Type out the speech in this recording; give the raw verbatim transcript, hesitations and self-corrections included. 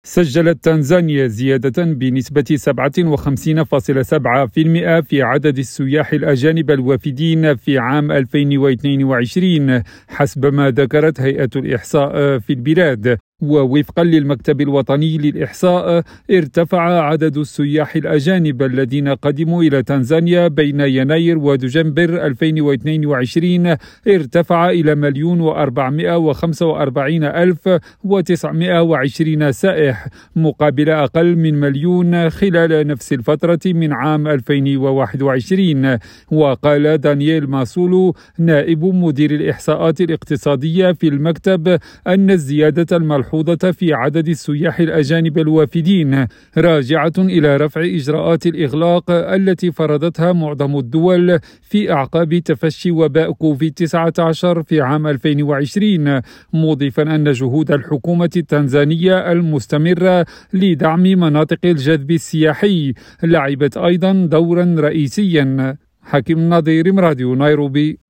سجلت تنزانيا زيادة بنسبة سبعة وخمسين فاصلة سبعة بالمئة في عدد السياح الأجانب الوافدين في عام ألفين واثنين وعشرين حسب ما ذكرت هيئة الإحصاء في البلاد. ووفقا للمكتب الوطني للإحصاء ارتفع عدد السياح الأجانب الذين قدموا إلى تنزانيا بين يناير ودجنبر ألفين واثنين وعشرين ارتفع إلى مليون وأربعمائة وخمسة وأربعين ألف وتسعمائة وعشرين سائح مقابل أقل من مليون خلال نفس الفترة من عام ألفين وواحد وعشرين. وقال دانييل ماسولو نائب مدير الإحصاءات الاقتصادية في المكتب أن الزيادة الملحوظة في عدد السياح الأجانب الوافدين راجعة إلى رفع إجراءات الإغلاق التي فرضتها معظم الدول في أعقاب تفشي وباء كوفيد تسعة عشر في عام ألفين وعشرين، مضيفا أن جهود الحكومة التنزانية المستمرة لدعم مناطق الجذب السياحي لعبت أيضا دورا رئيسيا. حكيم نظير، راديو نيروبي.